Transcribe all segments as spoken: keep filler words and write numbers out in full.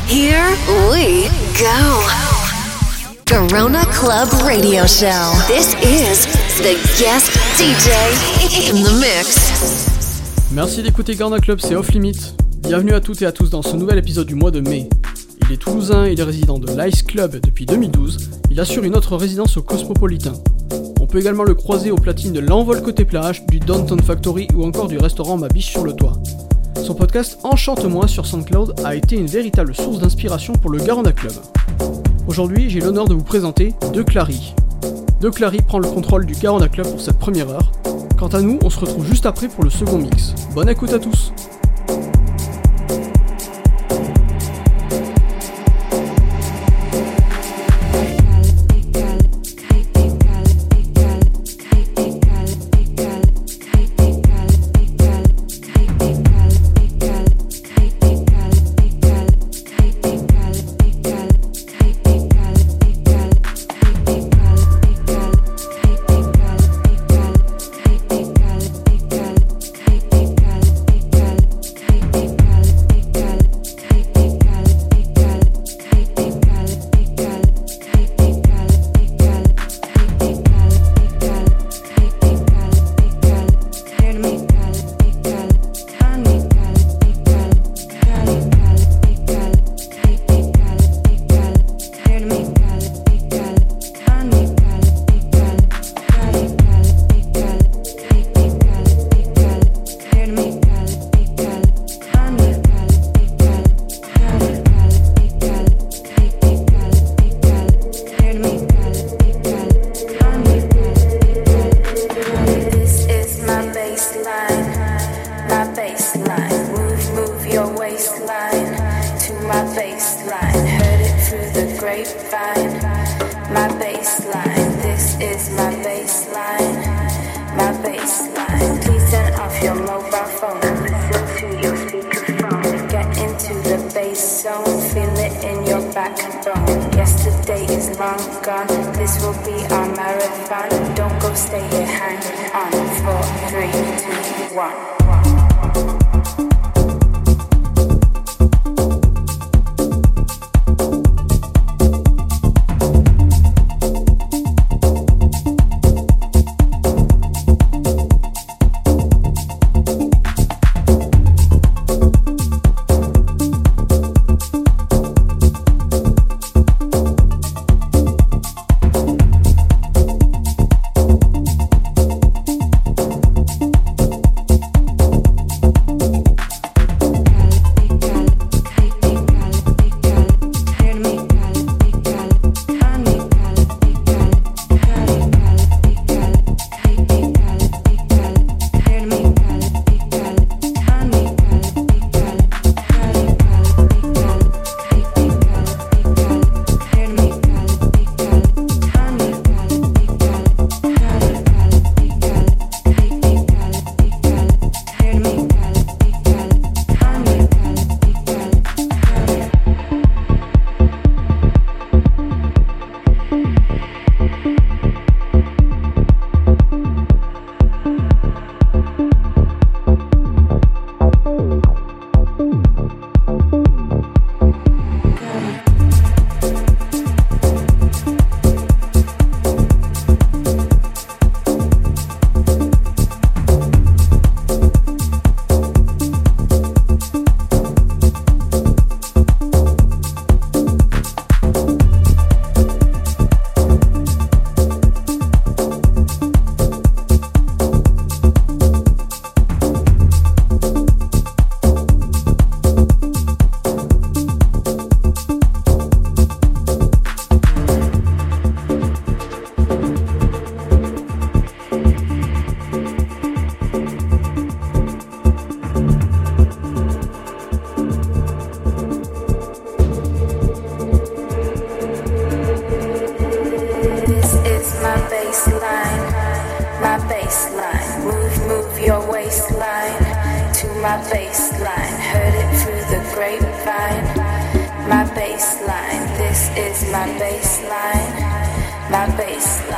Here we go. Garona Club Radio Show. This is the guest D J in the mix. Merci d'écouter Garona Club, c'est Off Limit. Bienvenue à toutes et à tous dans ce nouvel épisode du mois de mai. Il est toulousain, il est résident de l'Ice Club depuis deux mille douze. Il assure une autre résidence au Cosmopolitain. On peut également le croiser au platine de l'Envol Côté Plage, du Downtown Factory ou encore du restaurant Ma Biche sur le Toit. Son podcast Enchante-moi sur SoundCloud a été une véritable source d'inspiration pour le Garona Club. Aujourd'hui, j'ai l'honneur de vous présenter De Clary. De Clary prend le contrôle du Garona Club pour cette première heure. Quant à nous, on se retrouve juste après pour le second mix. Bonne écoute à tous.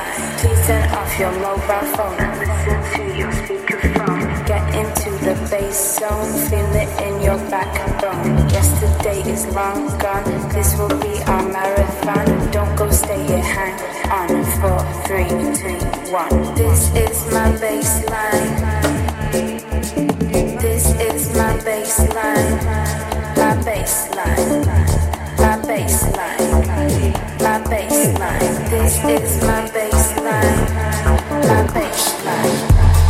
Your mobile phone, listen to your speakerphone. Get into the bass this zone, feel it in your backbone. Yesterday is long gone, this will be our marathon. Don't go, stay here, hang on. Four, three, two, one. This is my baseline. This is my baseline. My baseline. My baseline. My baseline. This is my baseline. My baseline.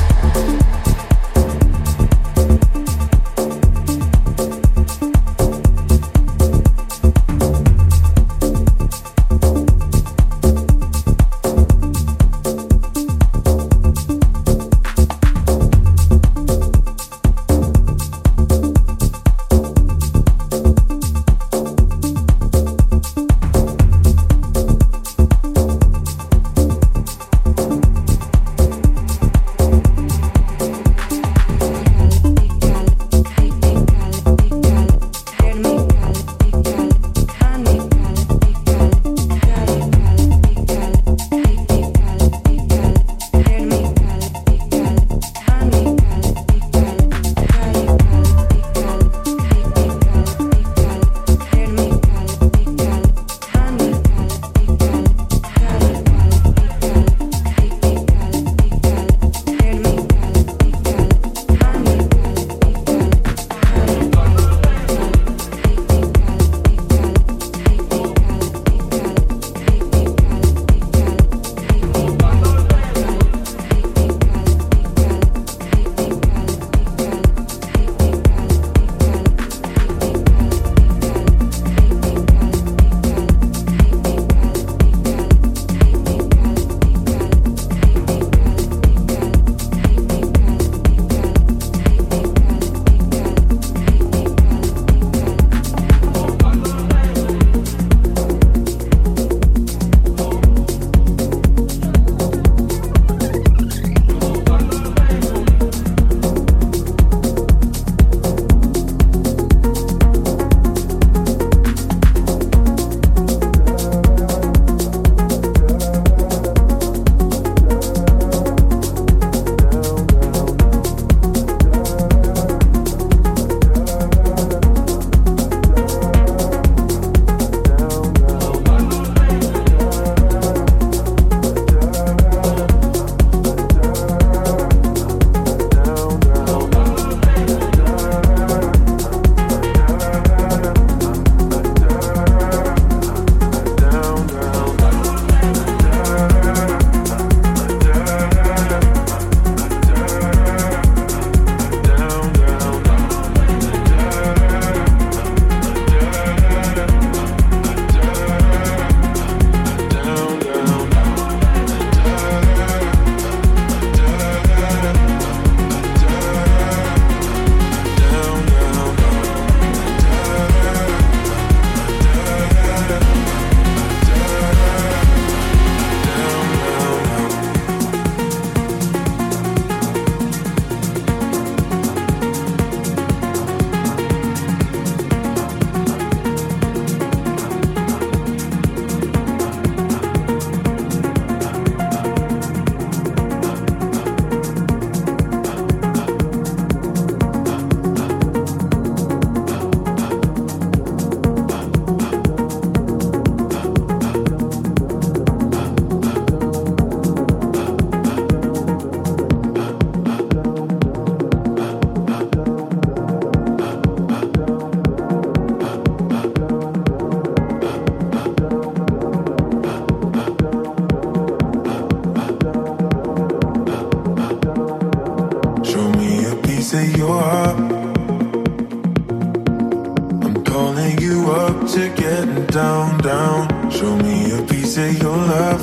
down, down. Show me a piece of your love.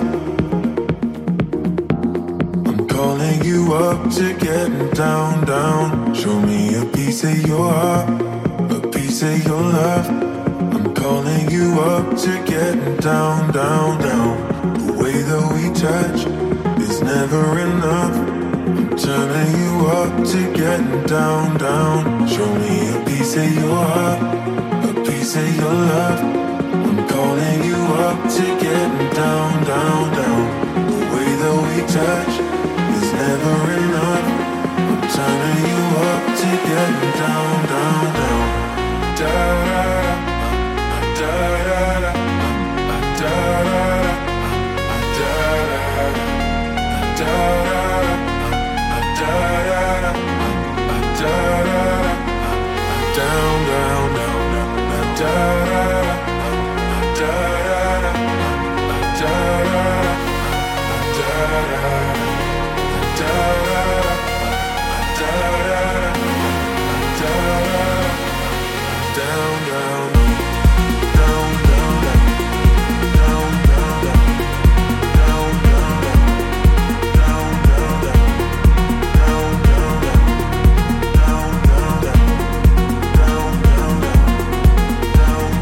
I'm calling you up to getting down, down. Show me a piece of your heart, a piece of your love. I'm calling you up to getting down, down, down. The way that we touch is never enough. I'm turning you up to getting down, down. Show me a piece of your heart, a piece of your love. I'm calling you up to getting down, down, down. The way that we touch is never enough. I'm turning you up to to getting down, down, down. Da da da da da da da da down, down, down, down, da down,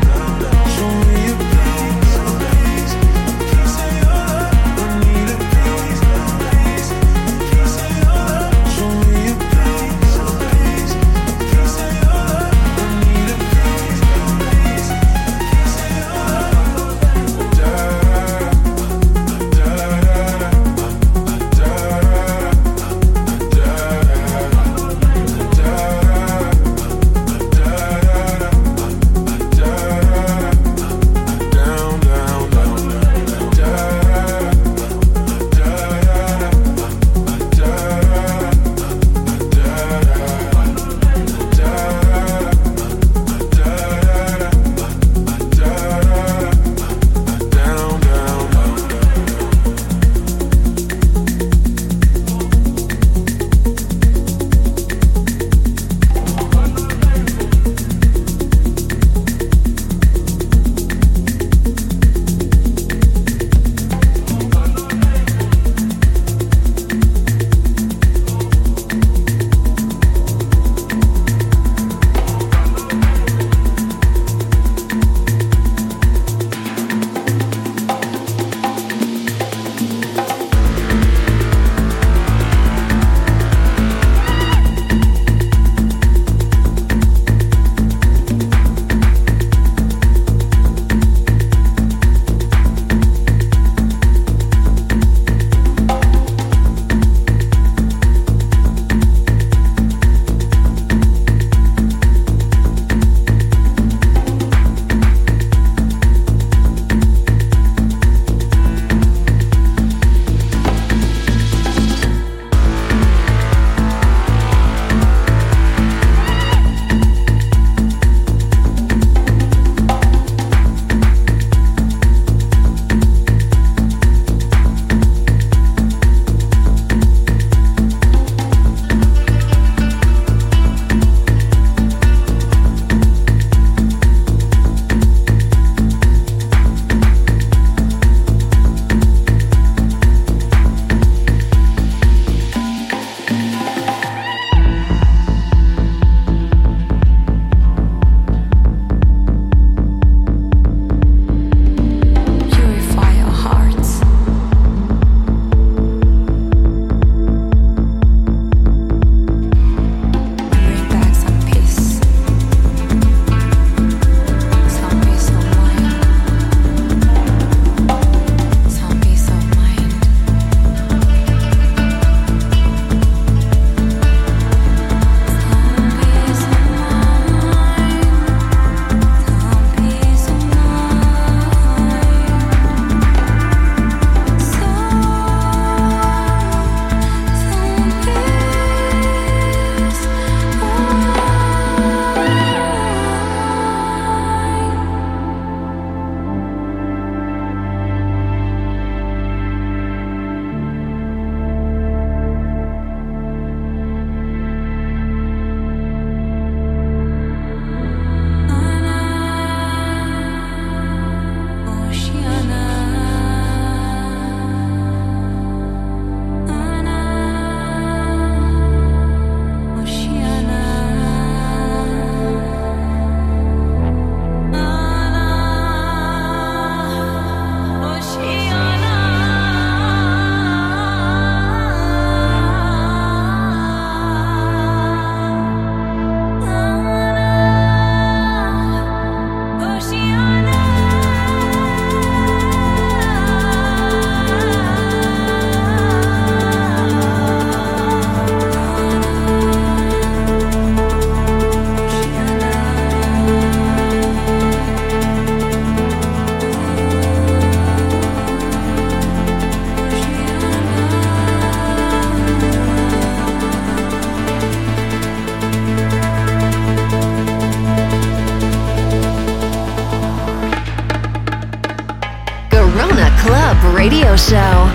Radio Show.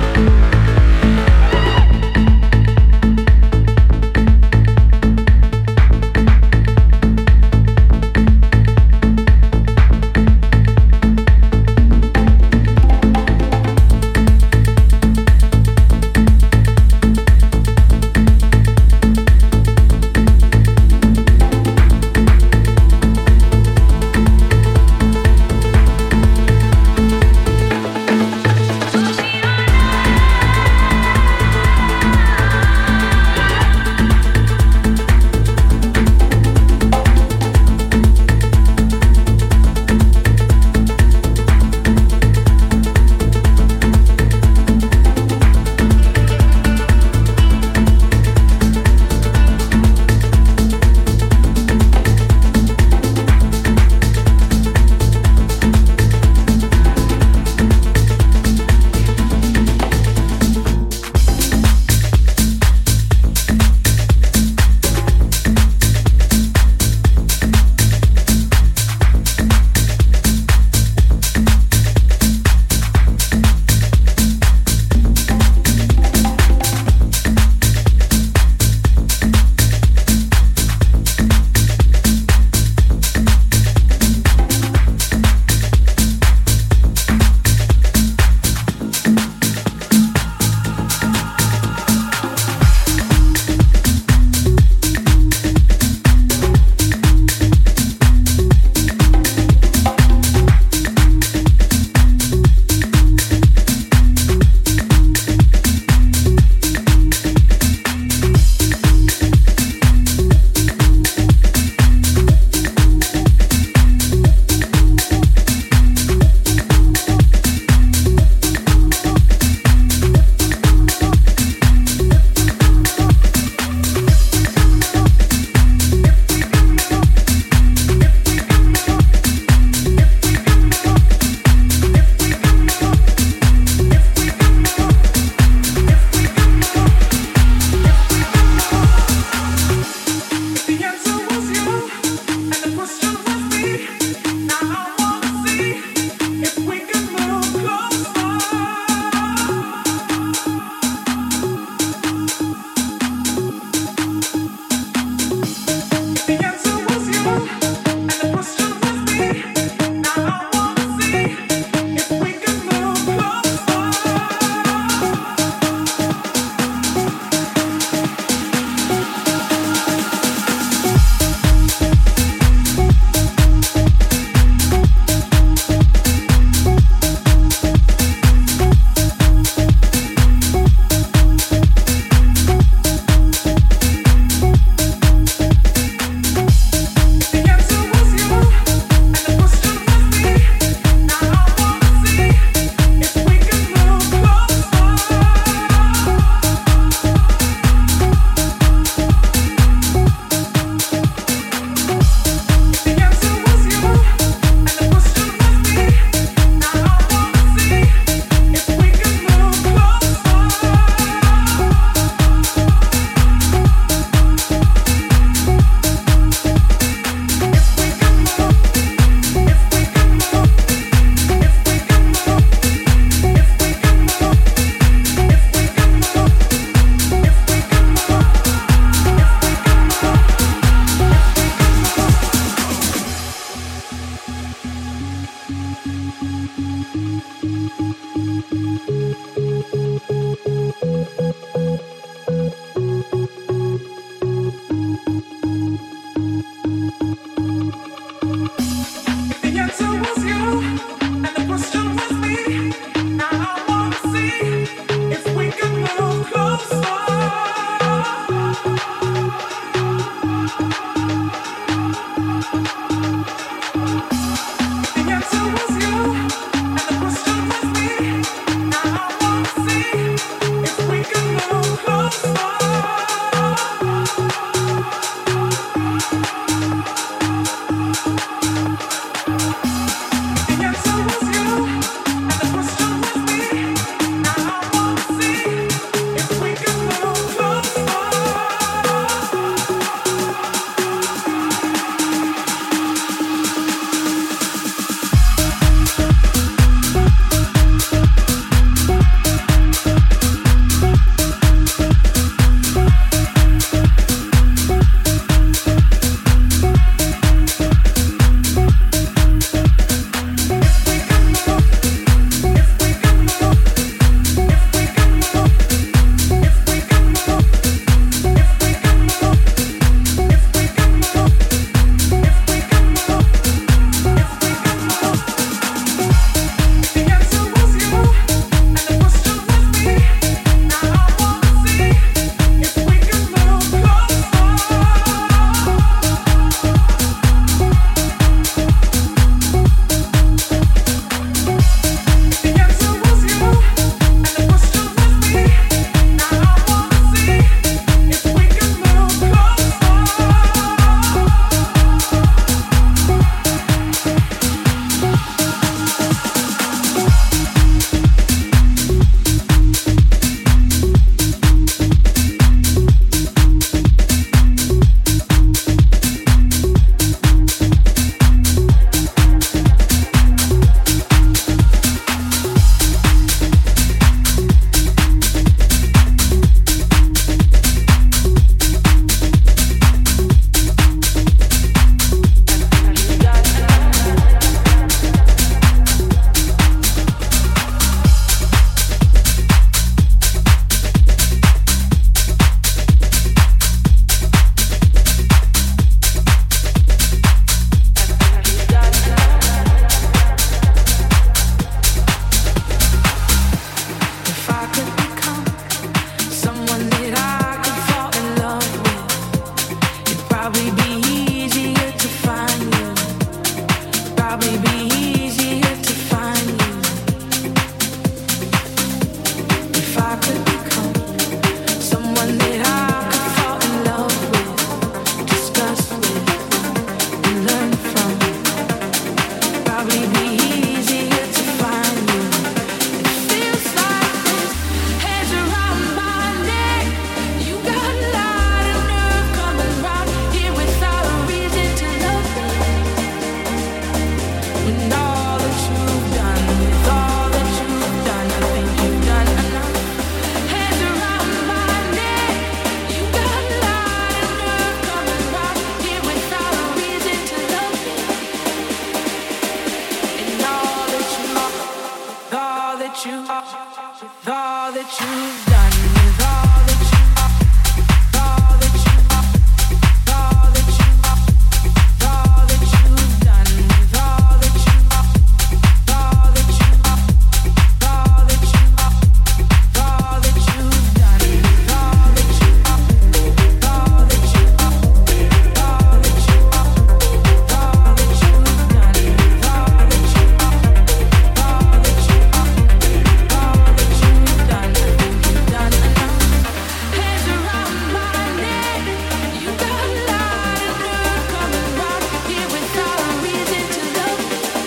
you, with all that you've done, with all that you, all that you, all that you, all that you've done, with all that you, all that you, all that you, all that you've done, with all that you, all that you, all that you, all that you've done, with all that you, all that you, all that you've done. I think you've done enough. Hands around my neck, you got a lot of nerve coming round here without a reason to love.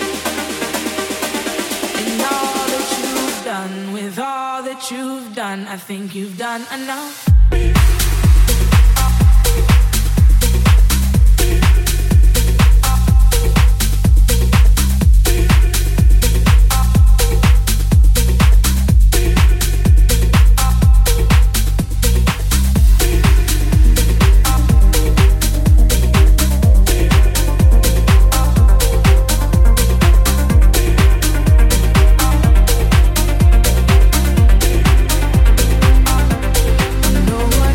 And all that you've done, with all that you've done, I think you've done enough. No one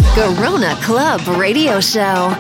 Garona Club Radio Show.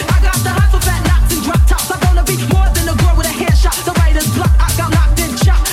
Shot.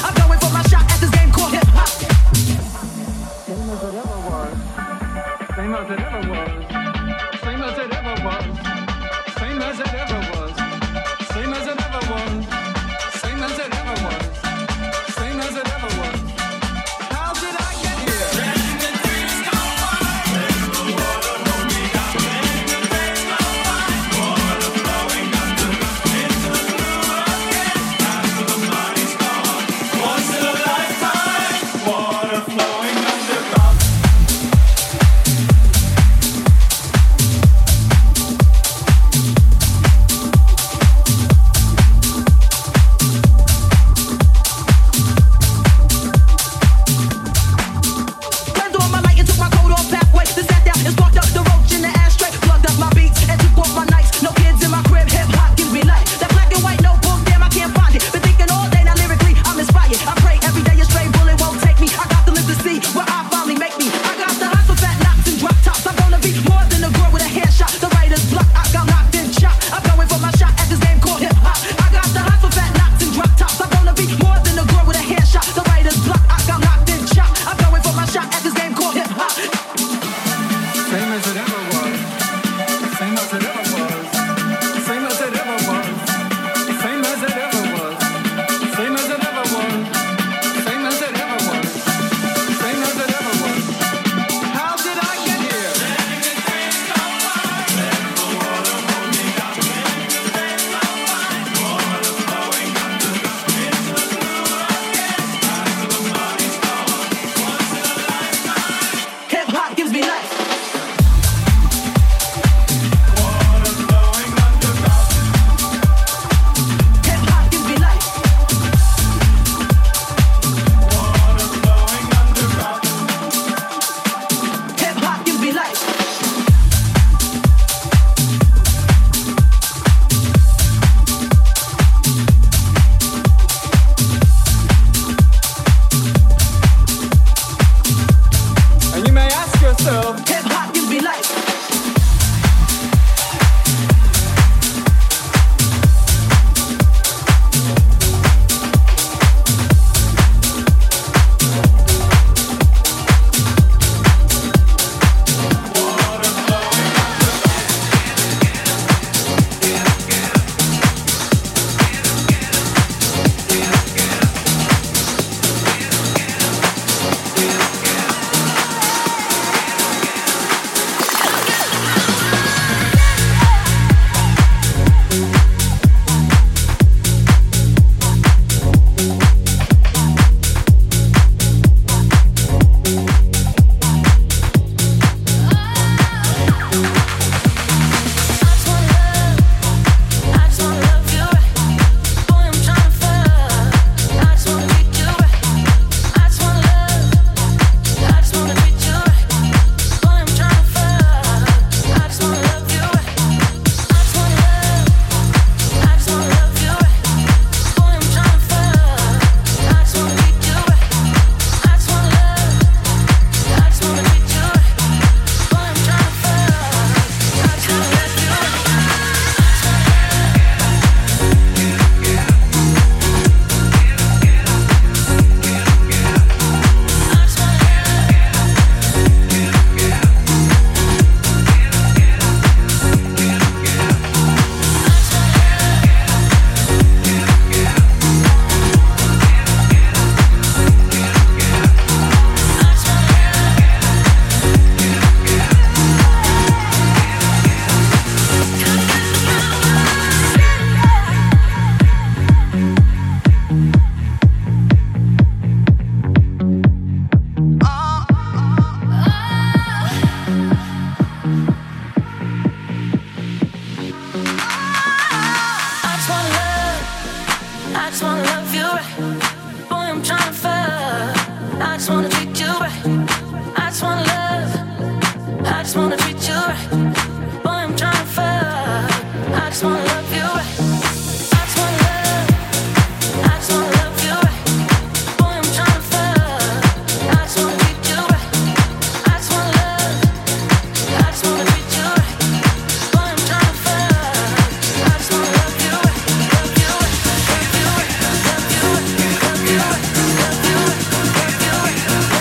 just wanna treat you right. I just wanna love. I just wanna treat you right. Boy, I'm trying to fuck. I just wanna love you right. I just wanna love. I just wanna love you right. Boy, I'm trying to fuck. I just wanna treat you right. I just wanna love. I just wanna treat you right. Boy, I'm trying to fuck. I just wanna love you right. Love you right. Love you right. Love you right. Love you right. Love you right. Love you right.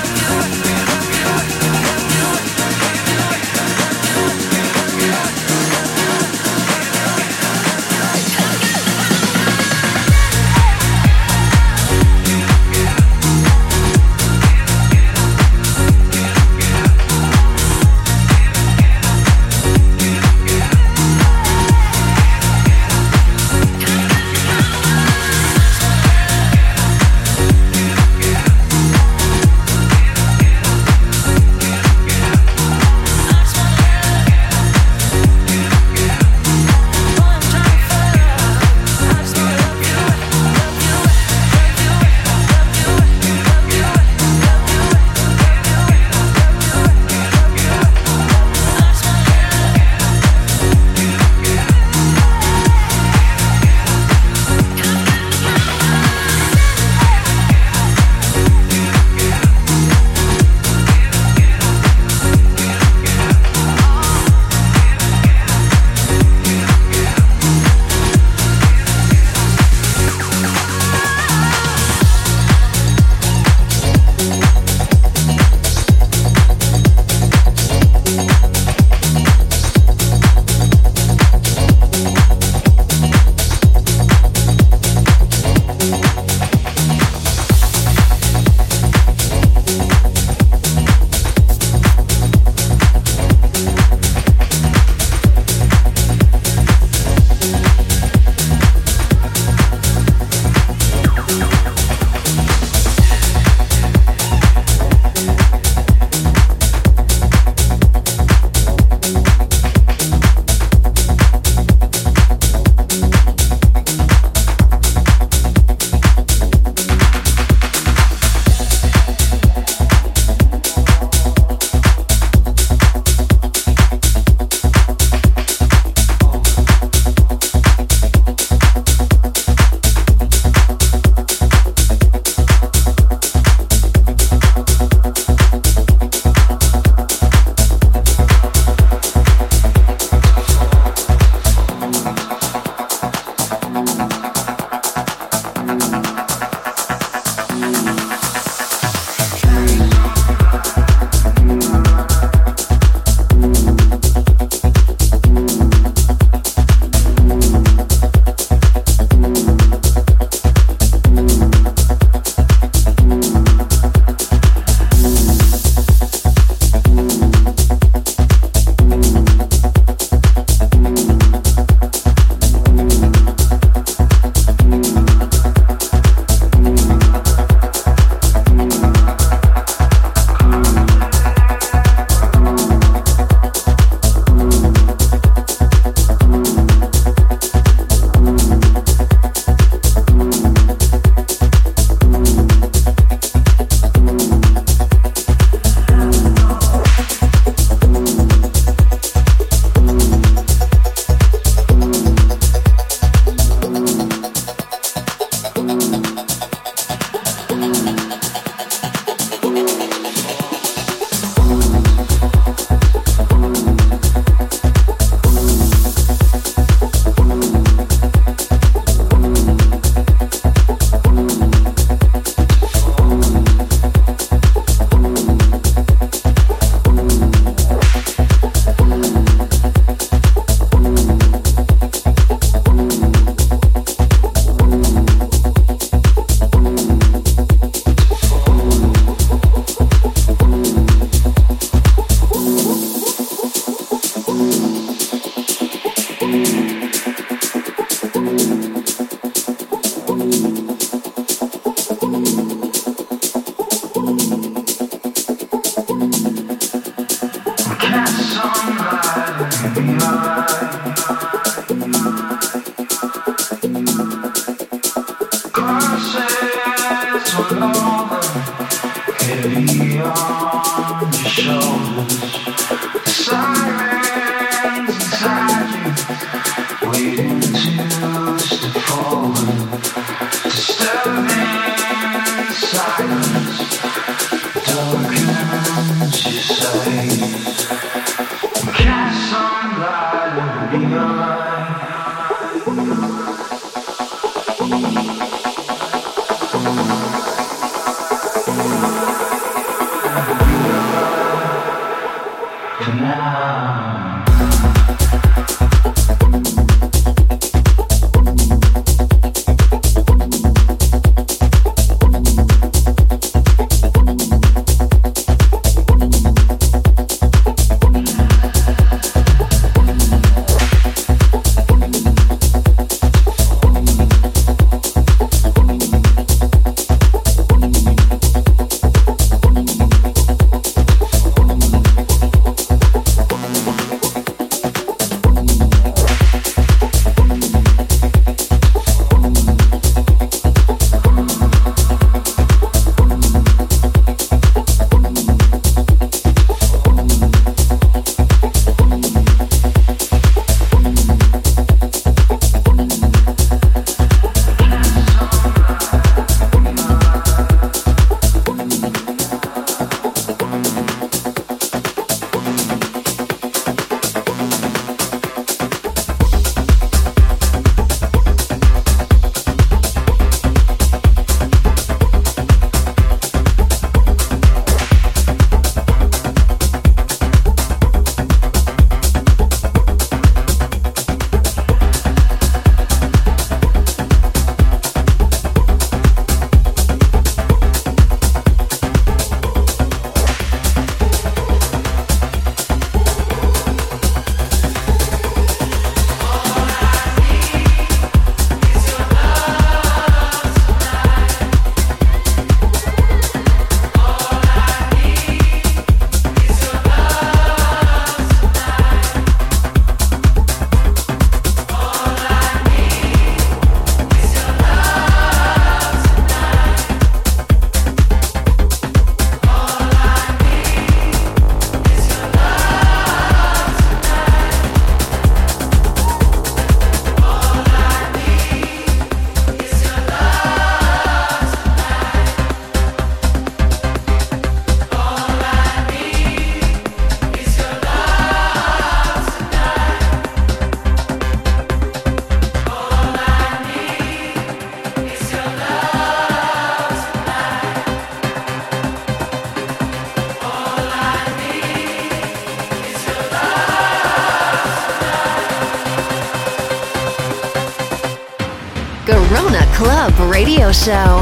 Garona Club Radio Show.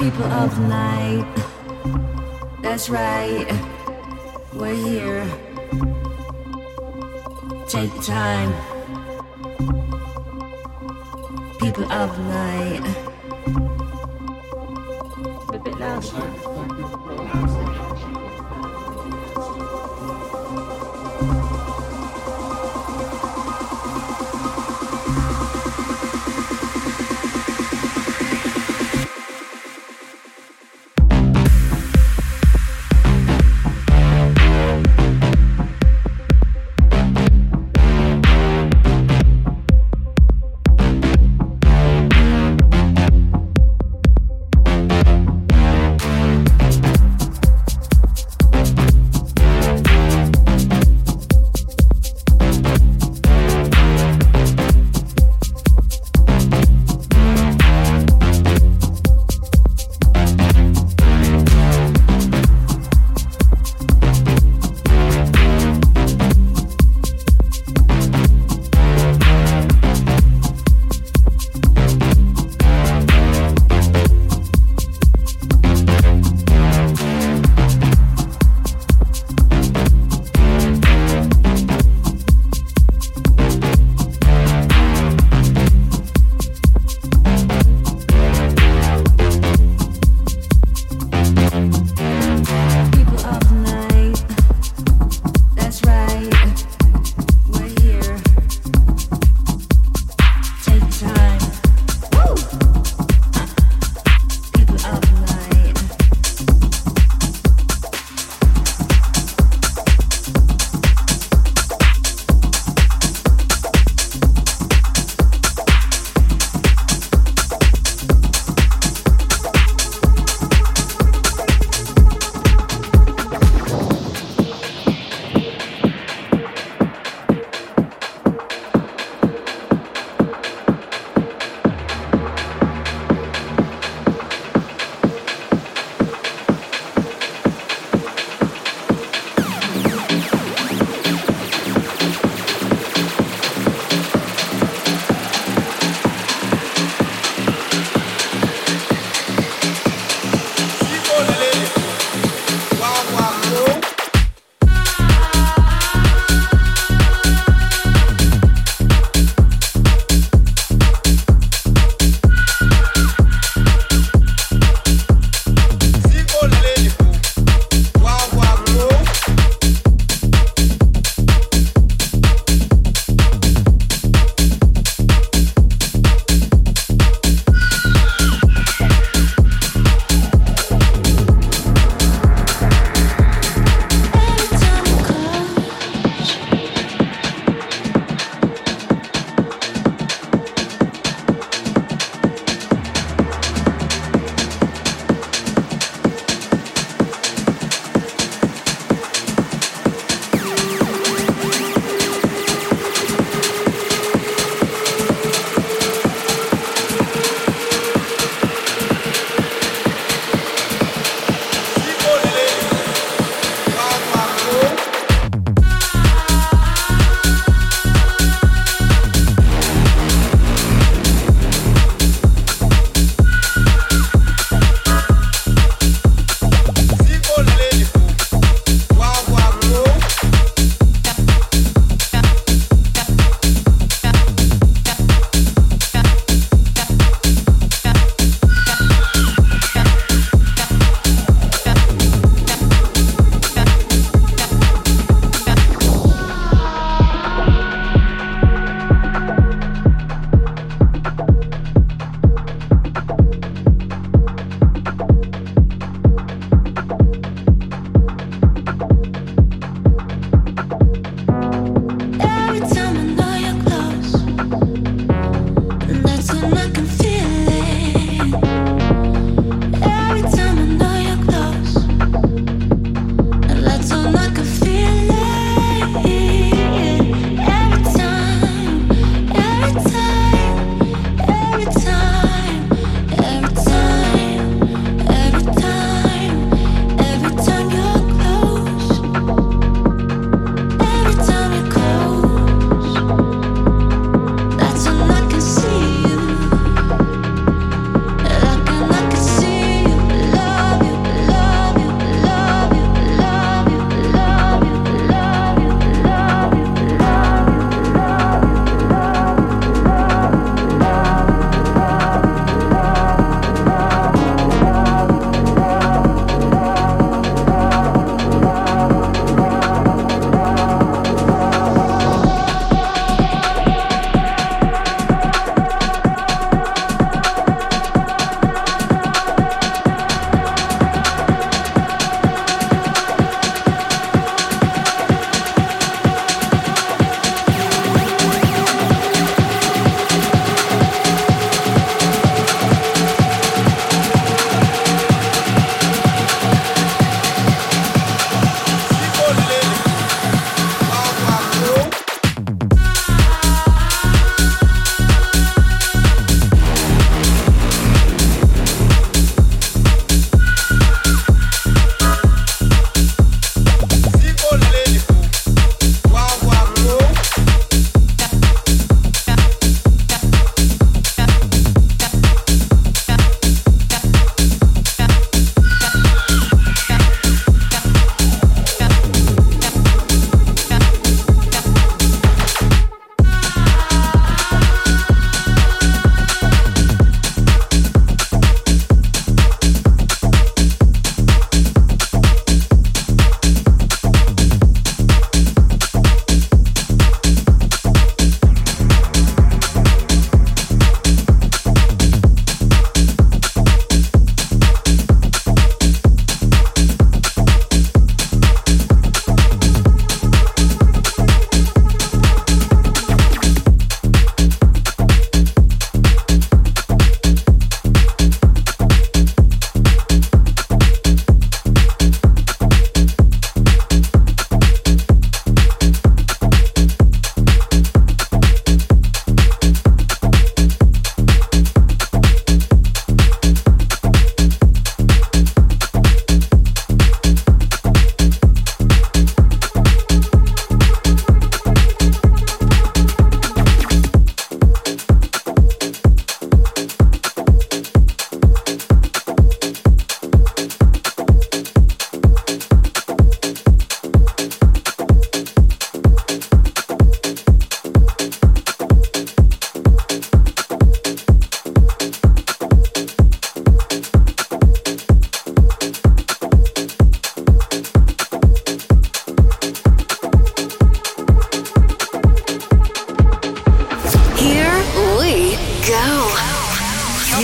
People of the night, that's right, we're here. Take time. People of the night. A bit louder.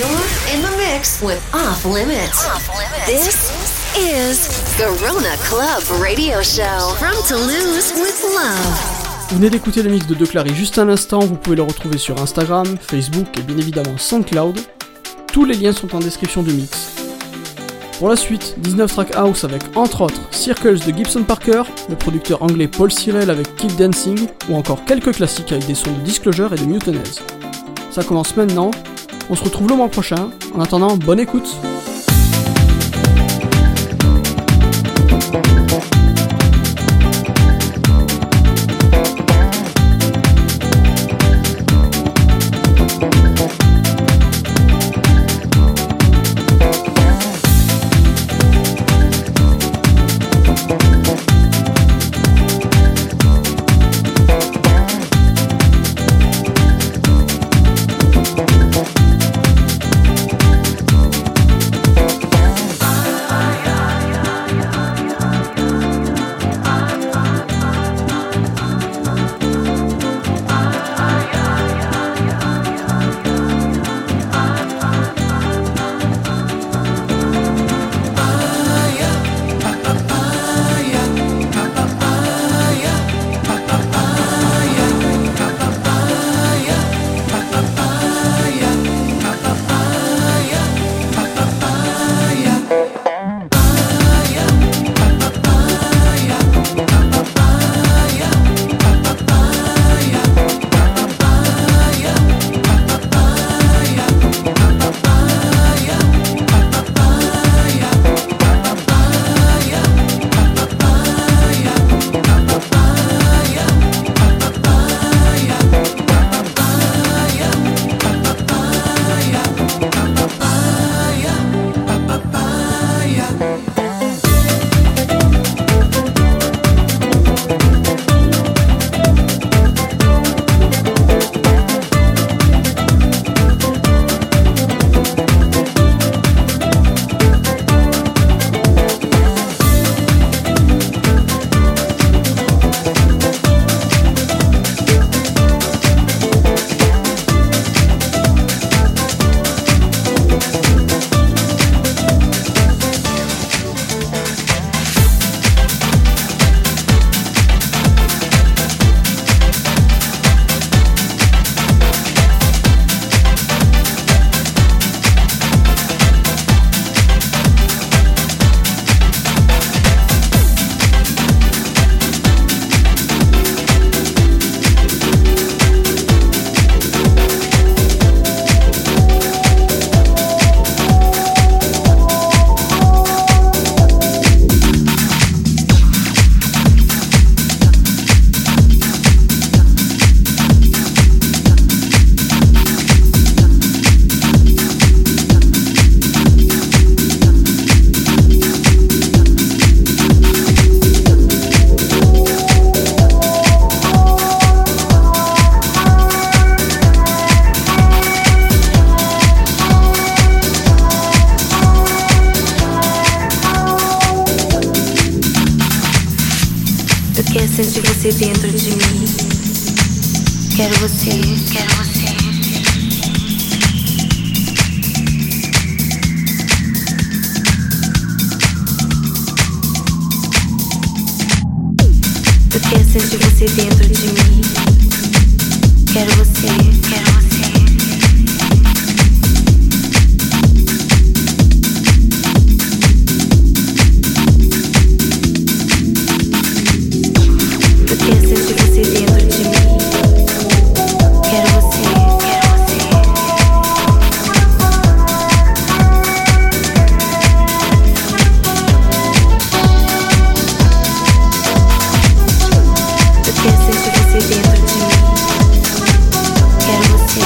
You're in the mix with Off Limits. Off Limits. This is Garona Club Radio Show from Toulouse with love. Vous venez d'écouter le mix de De Clary juste un instant, vous pouvez le retrouver sur Instagram, Facebook et bien évidemment SoundCloud. Tous les liens sont en description du mix. Pour la suite, dix-neuf track house avec entre autres Circles de Gibson Parker, le producteur anglais Paul Cyril avec Keep Dancing, ou encore quelques classiques avec des sons de Disclosure et de Mutants. Ça commence maintenant, on se retrouve le mois prochain, en attendant, bonne écoute. Sente você dentro de mim. Quero você, quero você. Eu quero sentir você dentro de mim. Quero você, quero você. Dentro de mim, quero você.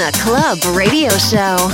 Garona Club Radio Show.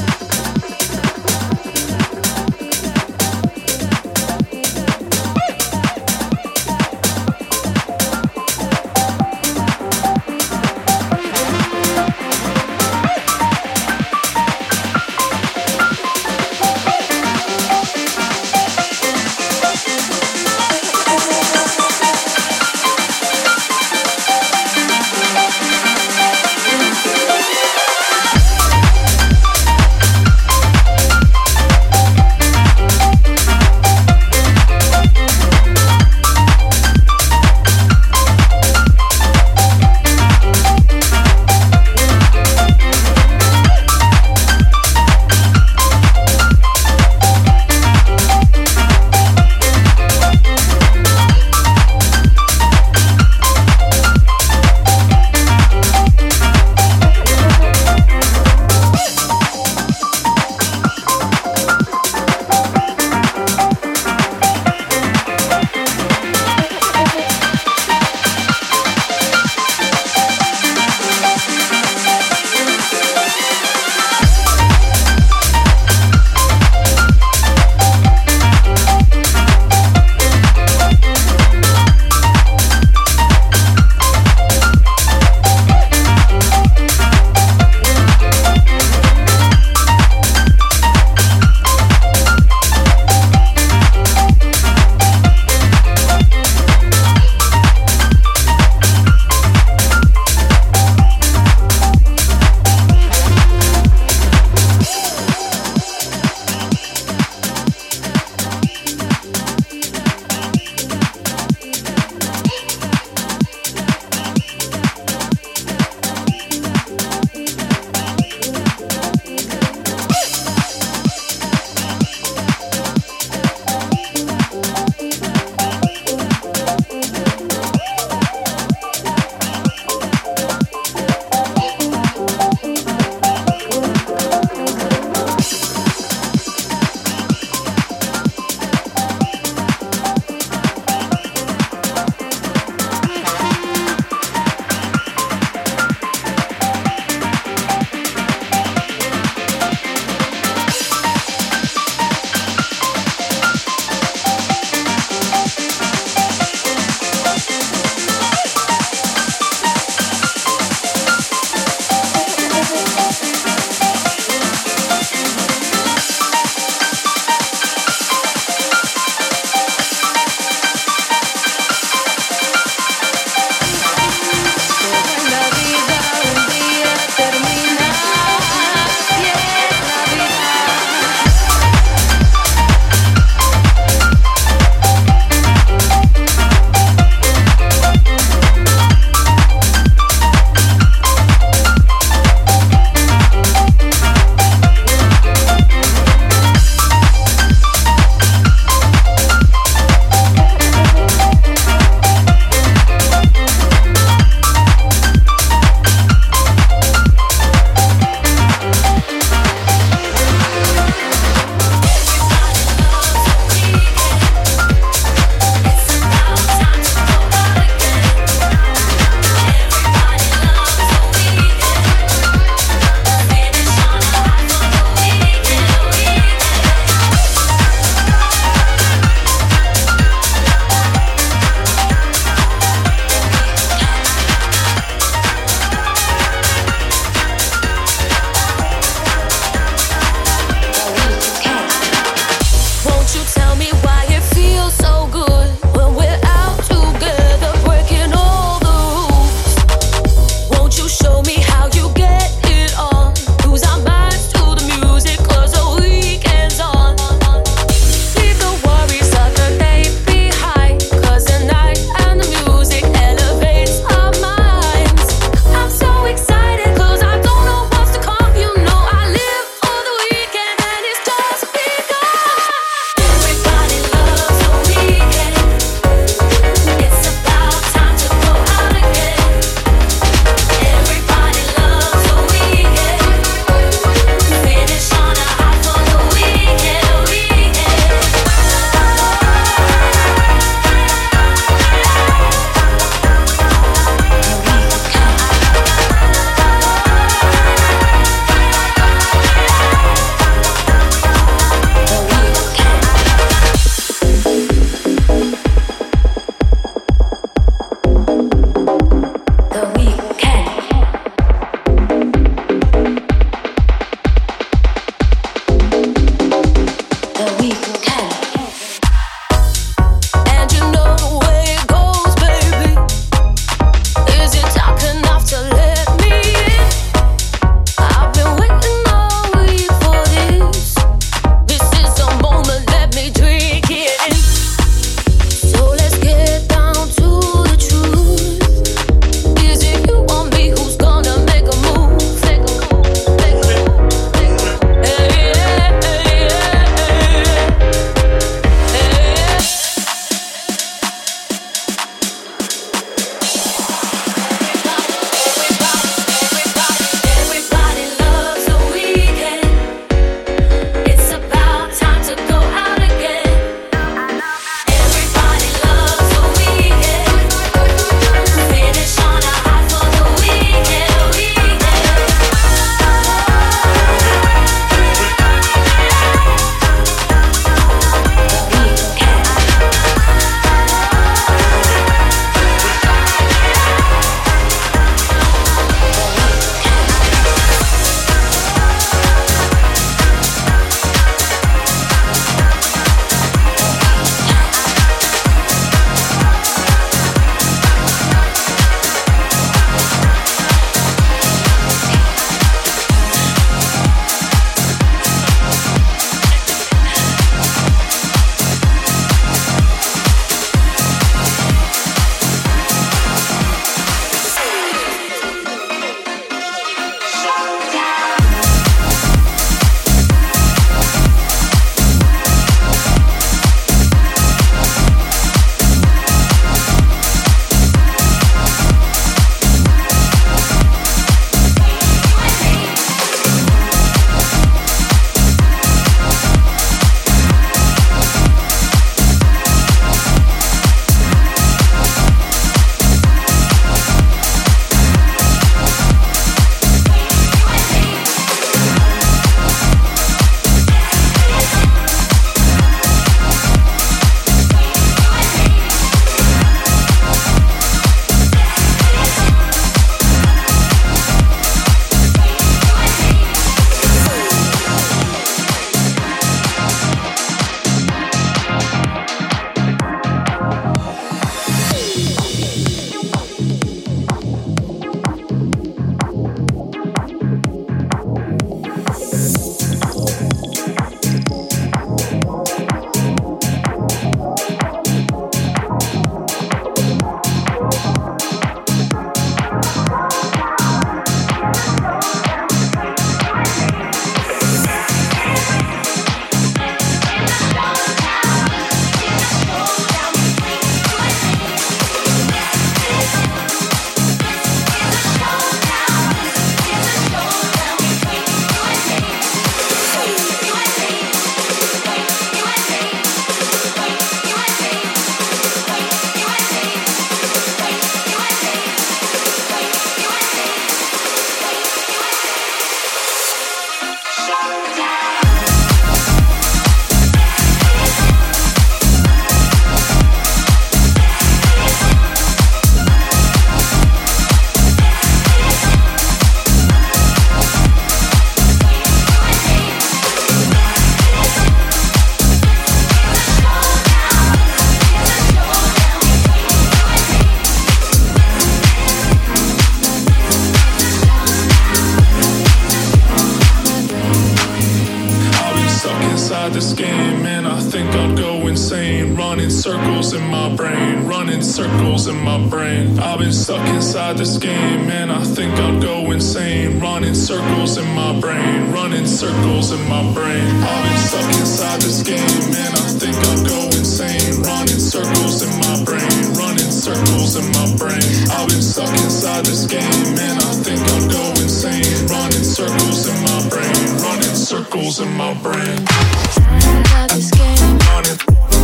this game, and I think I'd go insane. Running circles in my brain, running circles in my brain. I've been stuck inside this game, and I think I'd go insane. Running circles in my brain, running circles in my brain. I've been stuck inside this game, and I think I'd go insane. Running circles in my brain, running circles in my brain. I've been stuck inside this game, and I think I'd go insane. Running circles in my brain, running circles in my brain. Inside this game, Running,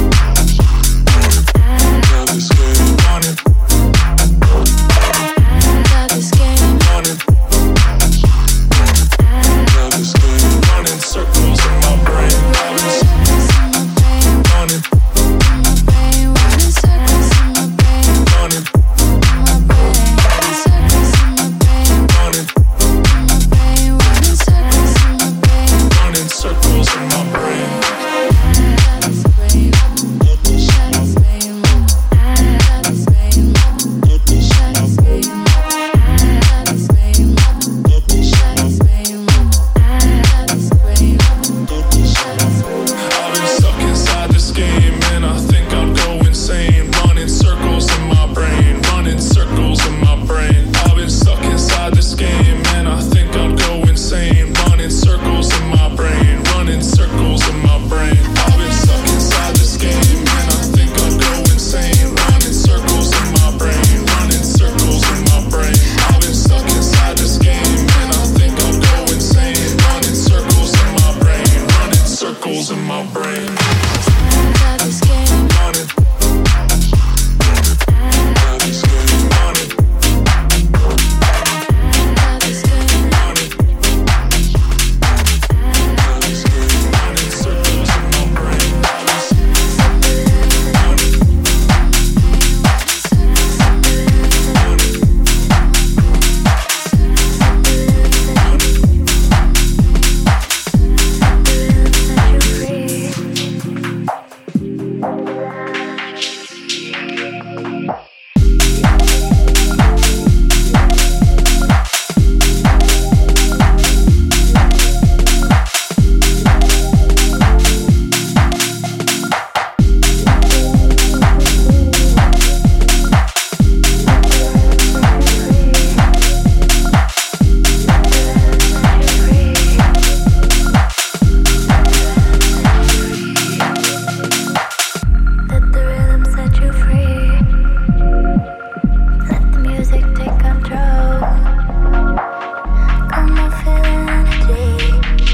inside this game, running, inside this game, running, inside this game, running circles in my brain. I've been running, running circles in my brain, running, running circles in my brain, running, running circles in my brain, running circles in my brain. inside this brain, inside this brain, inside this brain, inside this brain, inside this brain, inside this brain, inside this brain, inside this brain. I've been stuck inside this game, and I think I'd go insane. Running circles in my brain, running circles in my brain. I've been stuck inside this game, and I think I'd go insane. Running circles in my brain, running circles in my brain. I've been stuck inside this game, and I think I'd go insane. Running circles in my brain, running circles in my brain. I've been stuck inside this game, and I think I'd go insane. Running circles in my brain, running circles in my brain. Inside this game, Running, inside this game, running, inside this game, running, inside this game, running circles in my brain. Let the rhythm set you free. Let the music take control. Come on, feel the energy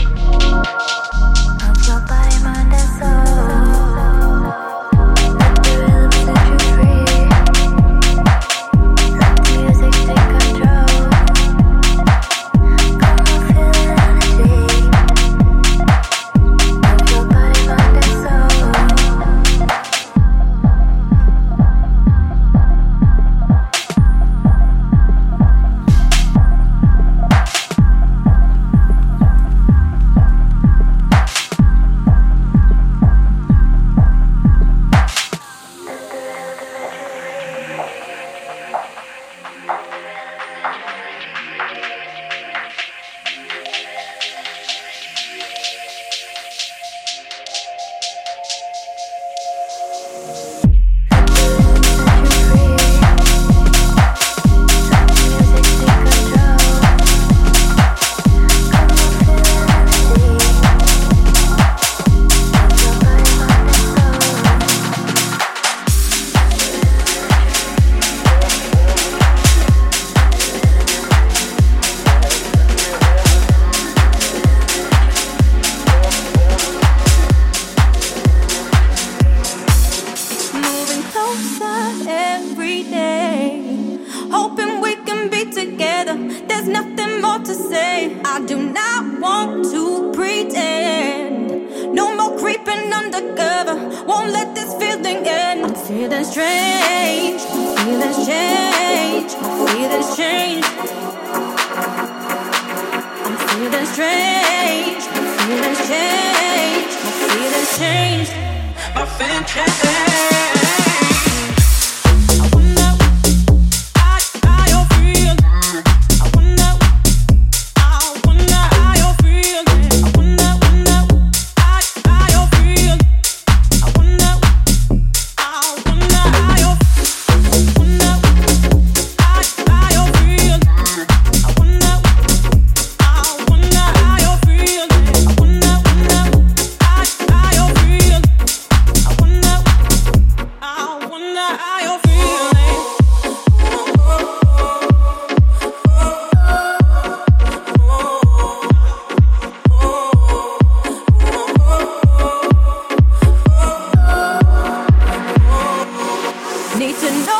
of your body, mind, and soul. Let the rhythm set you free. Let the music take control. Come on, feel the energy of your body, mind, and soul. Moving closer every day, hoping we can be together. There's nothing more to say. I do not want to pretend. No more creeping undercover. Won't let this feeling end. I'm feeling strange. Feelings change. Feelings change. I'm feeling strange. Feelings change. Feelings change. My feelings change. I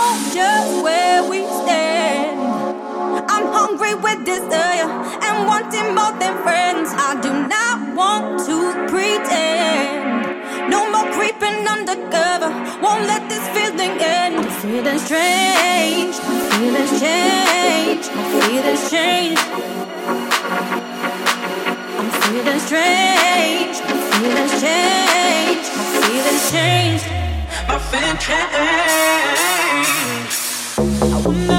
know just where we stand. I'm hungry with desire and wanting more than friends. I do not want to pretend. No more creeping undercover. Won't let this feeling end. The feeling's strange. The feeling's change. The feeling's change. I'm feeling strange. The feeling's change. The feeling's change. My feeling change. I wanna.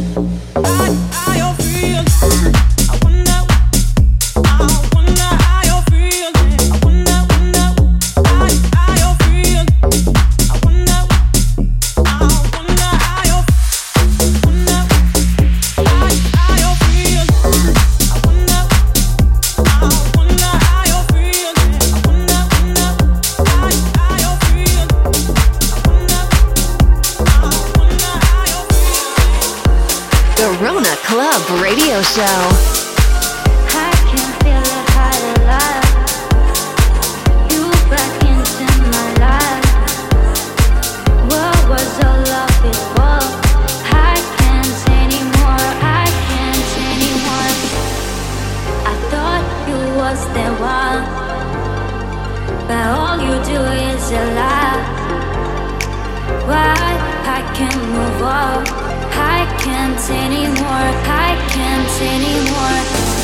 Garona Club Radio Show. I can feel it high alive. You back into my life. What was all love before? I can't anymore. I can't anymore. I thought you was the one, but all you do is a lie. Why I can't move on? I can't anymore, I can't anymore.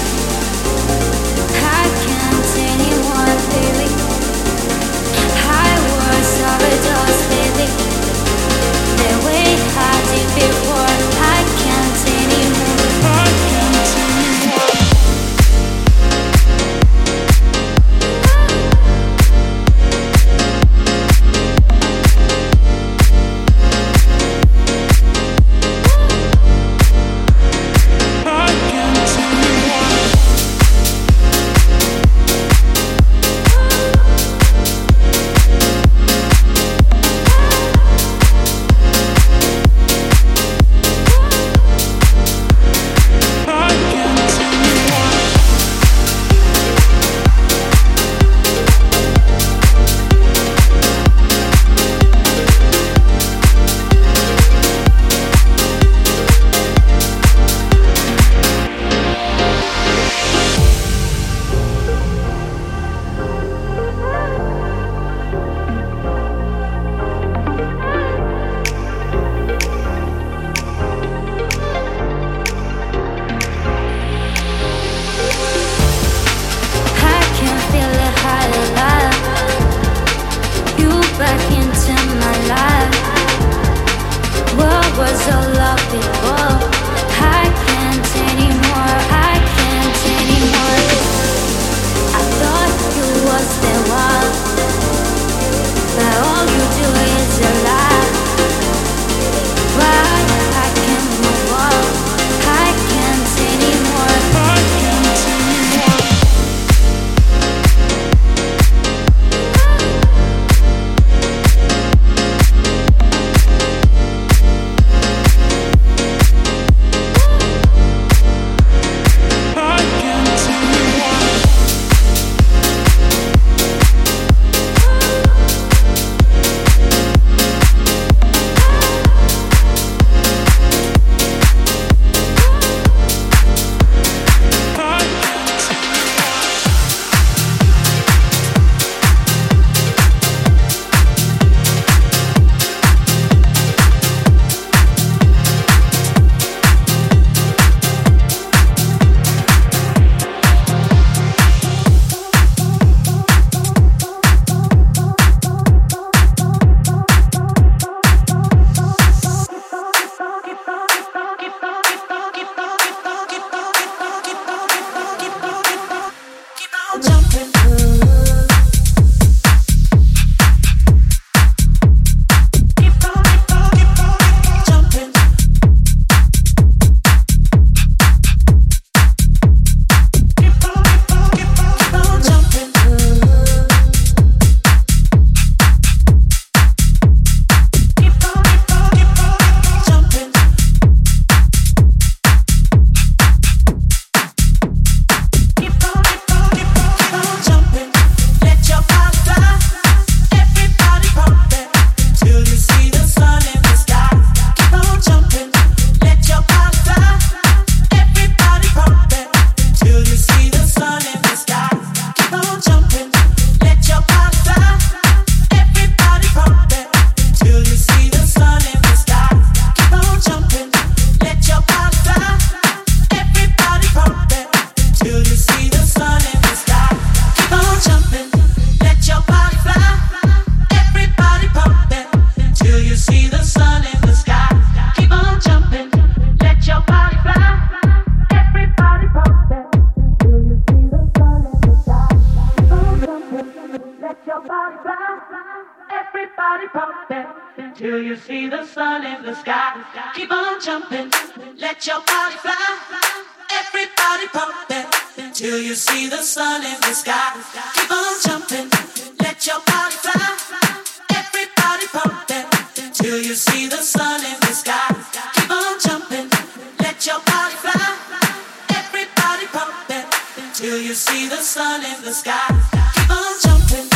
I can't anymore, baby. I was overdose, baby. The way I did before. I can't anymore, I can't anymore. till you see the sun in the sky. Keep on jumping, let your body fly. Everybody pumping till you see the sun in the sky. Keep on jumping, let your body fly. Everybody pumping till you see the sun in the sky. Keep on jumping, let your body fly. Everybody pumping till you see the sun in the sky. Keep on jumping.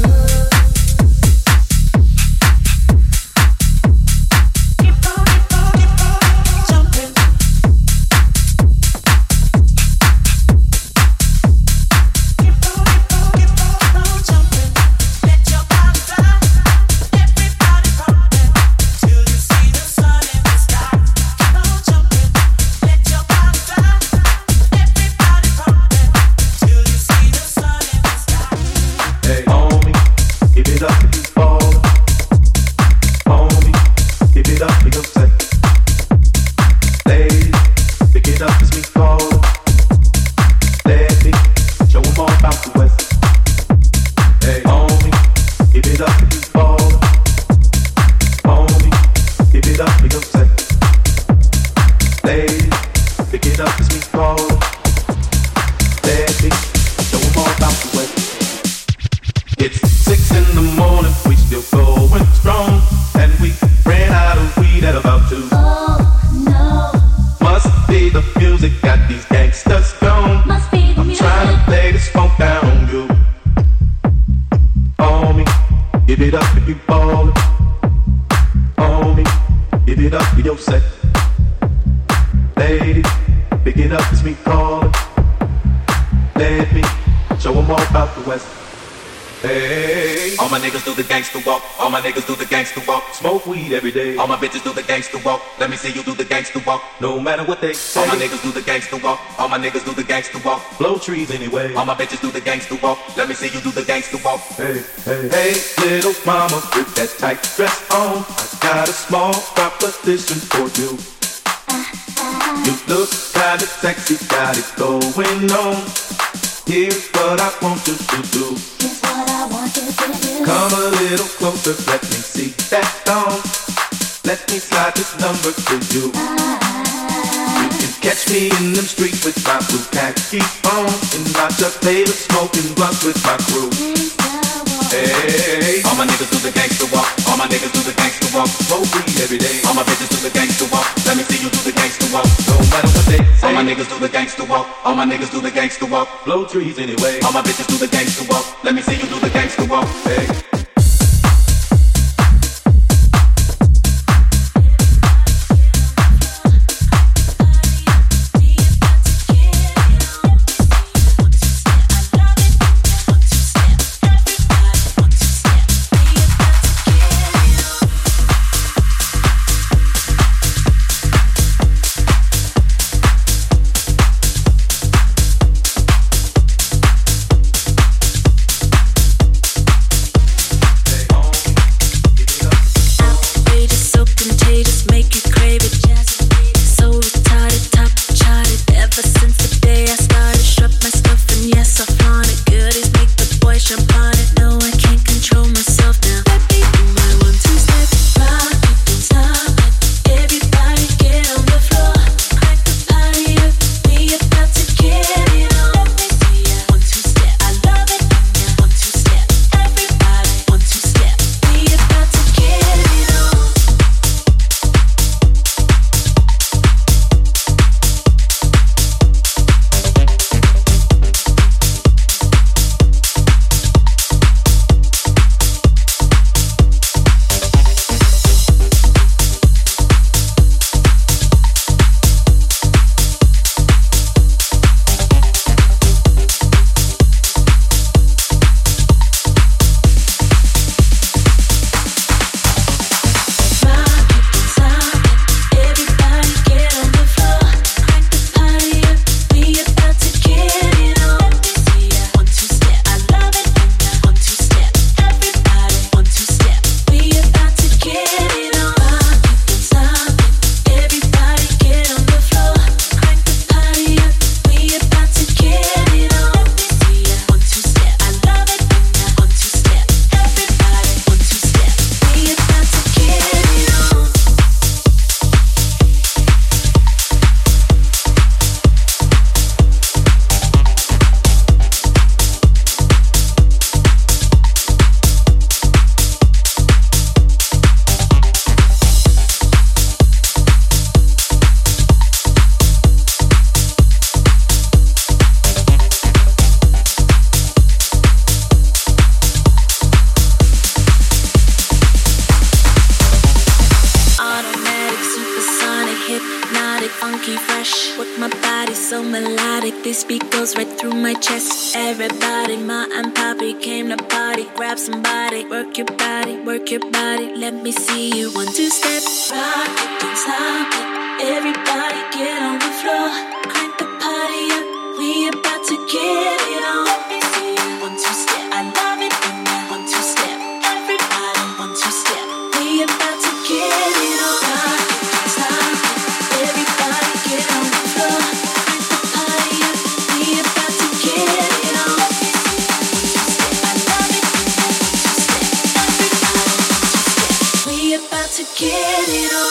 All my bitches do the gangster walk. Let me see you do the gangster walk. No matter what they say. All my niggas do the gangster walk. All my niggas do the gangster walk. Blow trees anyway. All my bitches do the gangster walk. Let me see you do the gangster walk. Hey, hey, hey, little mama with that tight dress on. I got a small proposition for you. You look kinda sexy, got it going on. Here's what I want you to do. Here's what I want you to do. Come a little closer, let me see that thong. Let me slide this number to you. You can catch me in them streets with my blue khaki on, and I just play the smoking blunt with my crew. Hey, all my niggas do the gangster walk. All my niggas do the gangster walk. Smoke weed every day. All my bitches do the gangster walk. Let me see you do the gangster walk. No matter what they say. All my niggas do the gangster walk. All my niggas do the gangster walk. Blow trees anyway. All my bitches do the gangster walk. Let me see you do the gangster walk. Hey. funky, fresh. Work my body so melodic, this beat goes right through my chest. Everybody, ma and papi came to party. Grab somebody, work your body, work your body. Let me see you one, two step. Rock it, don't stop it. Everybody get on the floor. Crank the party up, we about to get it on. Let me see you one, two step. I love it when that one, two step. Everybody one, two step. We about to get it on. Rock it, don't stop it. Everybody get on the floor. Crank the party up, we about to get it on. Let me see you one, two step. I love it when that one, two step. Everybody one, two step. We about to get it on.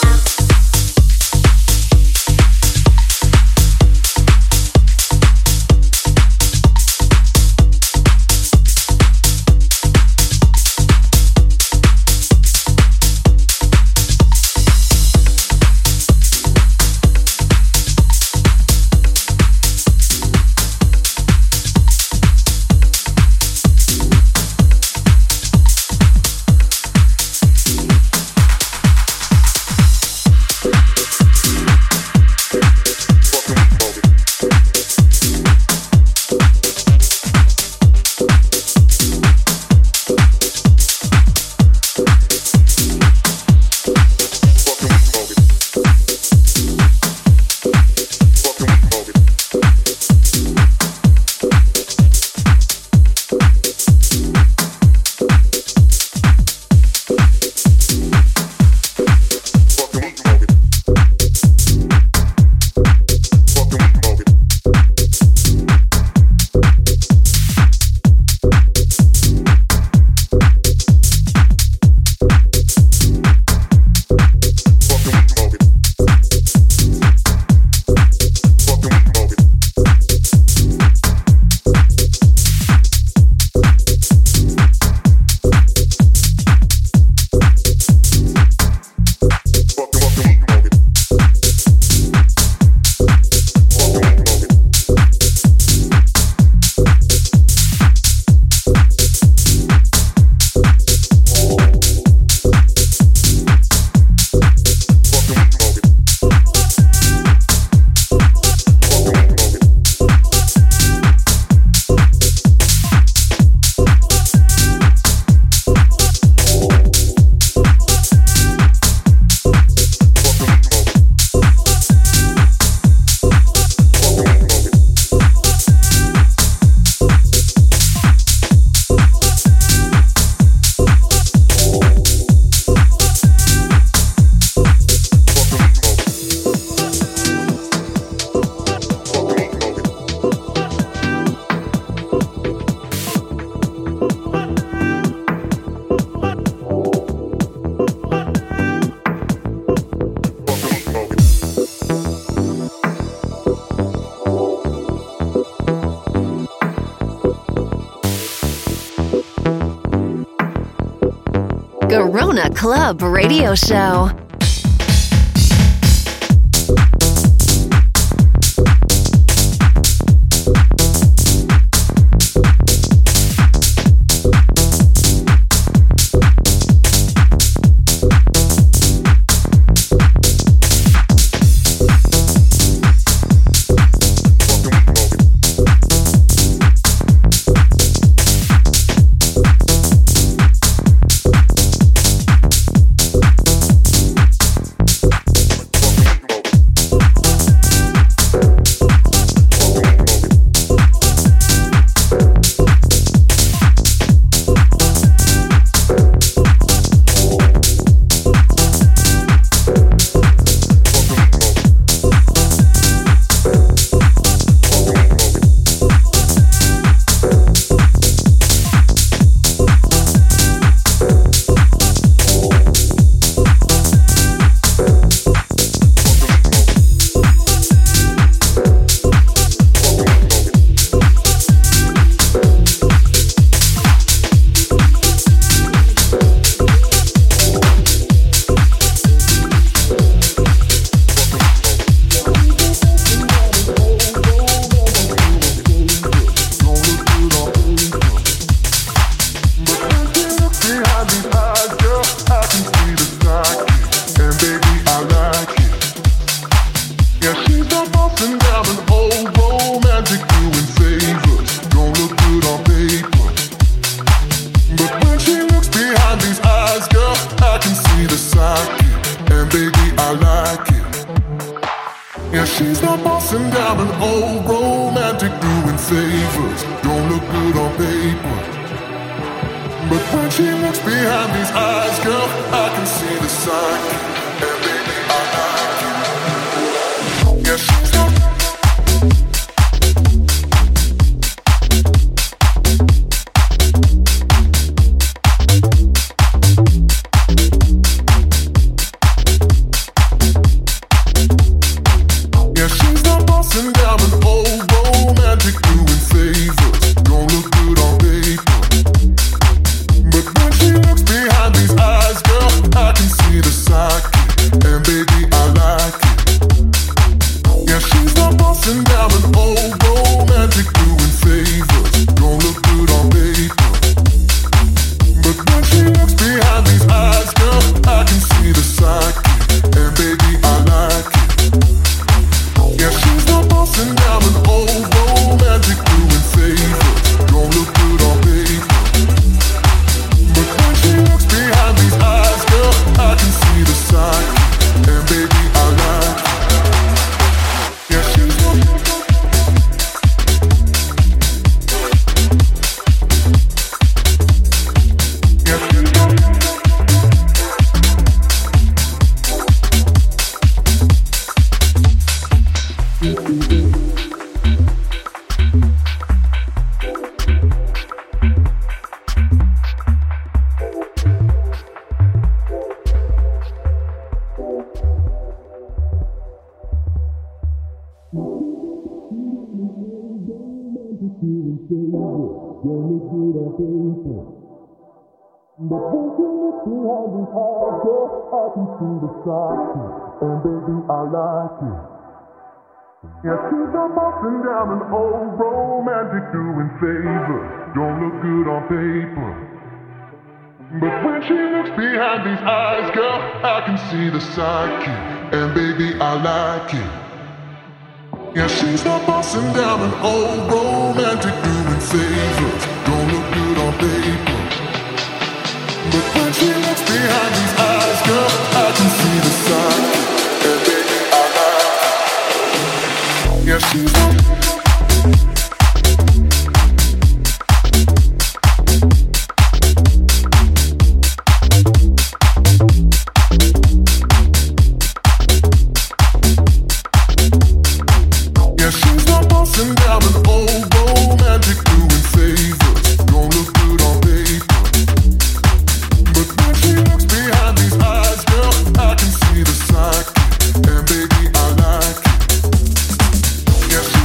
Garona Club Radio Show. Yeah, she's not bossing down an old romantic doing favors. Don't look good on paper. But when she looks behind these eyes, girl, I can see the sign. And baby, I like you. Yeah, she's not. Yeah, she's not bossing down an old romantic doing favors. Don't look good on paper. But when she looks behind these eyes, girl, I can see the sidekick. And baby, I like it. Yeah, she's not bossing down an old romantic doing favors. Don't look good on paper. But when she looks behind these eyes, girl, I can see the sidekick. And baby, I like it. Yeah, she's not bossing down an old romantic doing favors. Don't look good on paper. But when she looks behind these eyes, girl, I can see the side. And baby, I like it. Yeah, she's not. Yeah, she's not. But when she looks behind these eyes, girl, I can see the sidekick. And baby, I like it. Yeah, she's not bossing down an old romantic doing favors. Don't look good on paper. But when she looks behind these eyes, girl, I can see the sidekick. And baby, I like it. Yeah, she's not bossing down an old romantic doing favors. Don't look good on paper. But when she looks behind these eyes, girl, I can see the sign. And baby, I like it. Yeah, she's not. Yeah, she's not bossing down an old romantic doing favors. Don't look good on paper. But when she looks behind these eyes, girl, I can see the sidekick. And baby, I like it. Yeah, she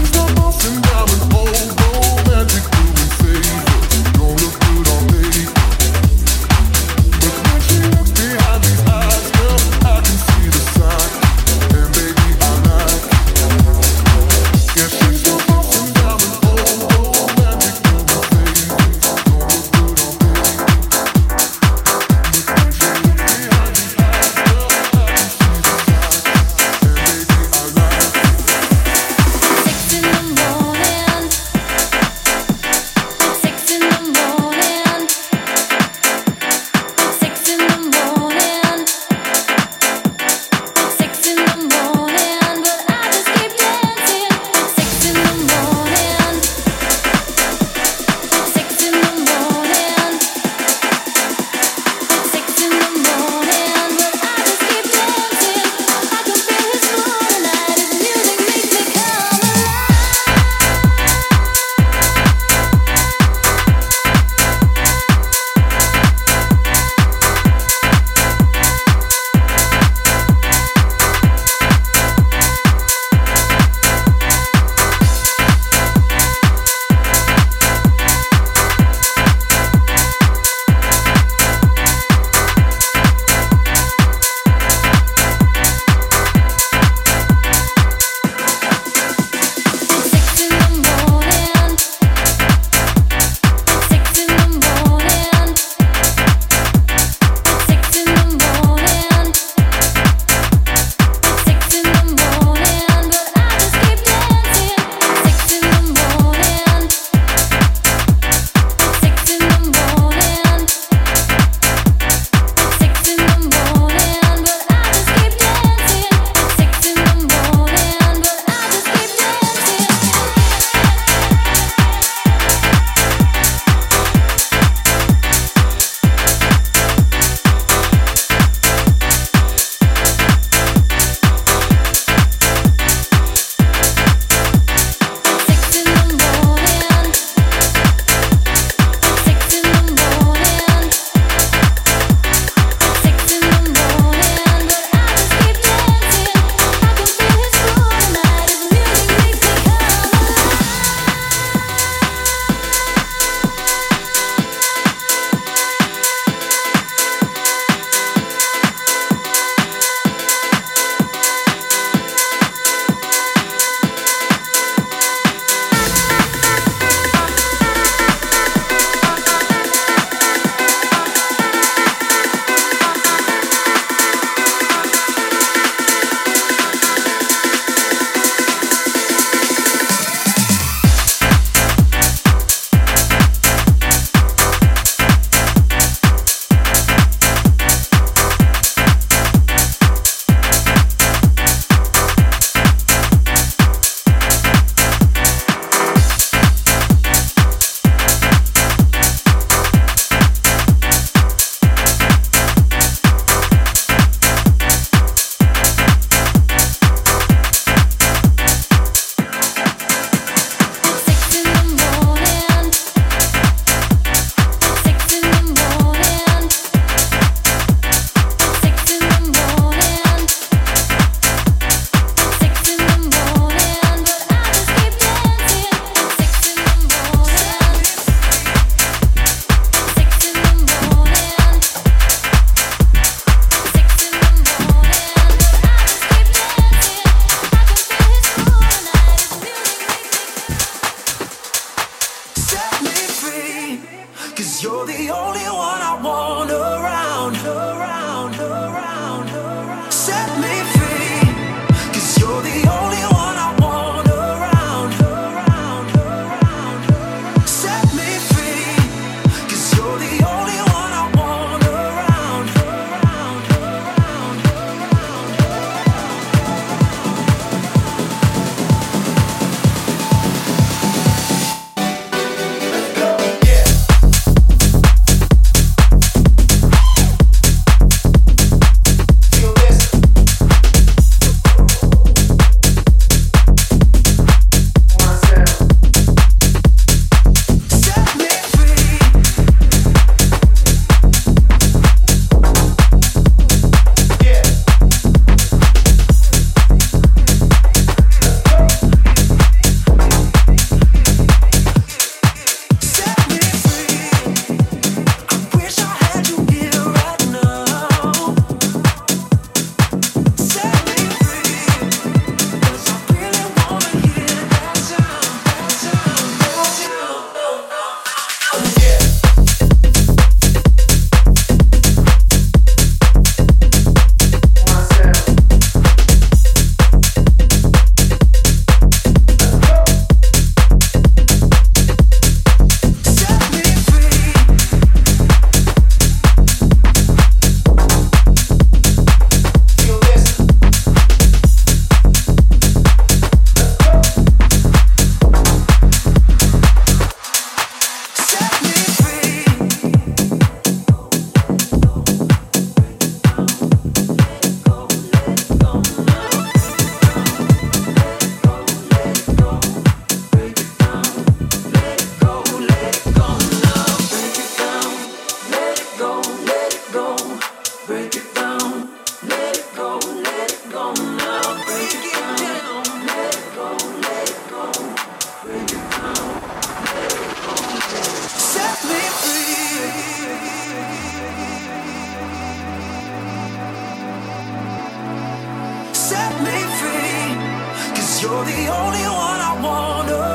'cause you're the only one I wanna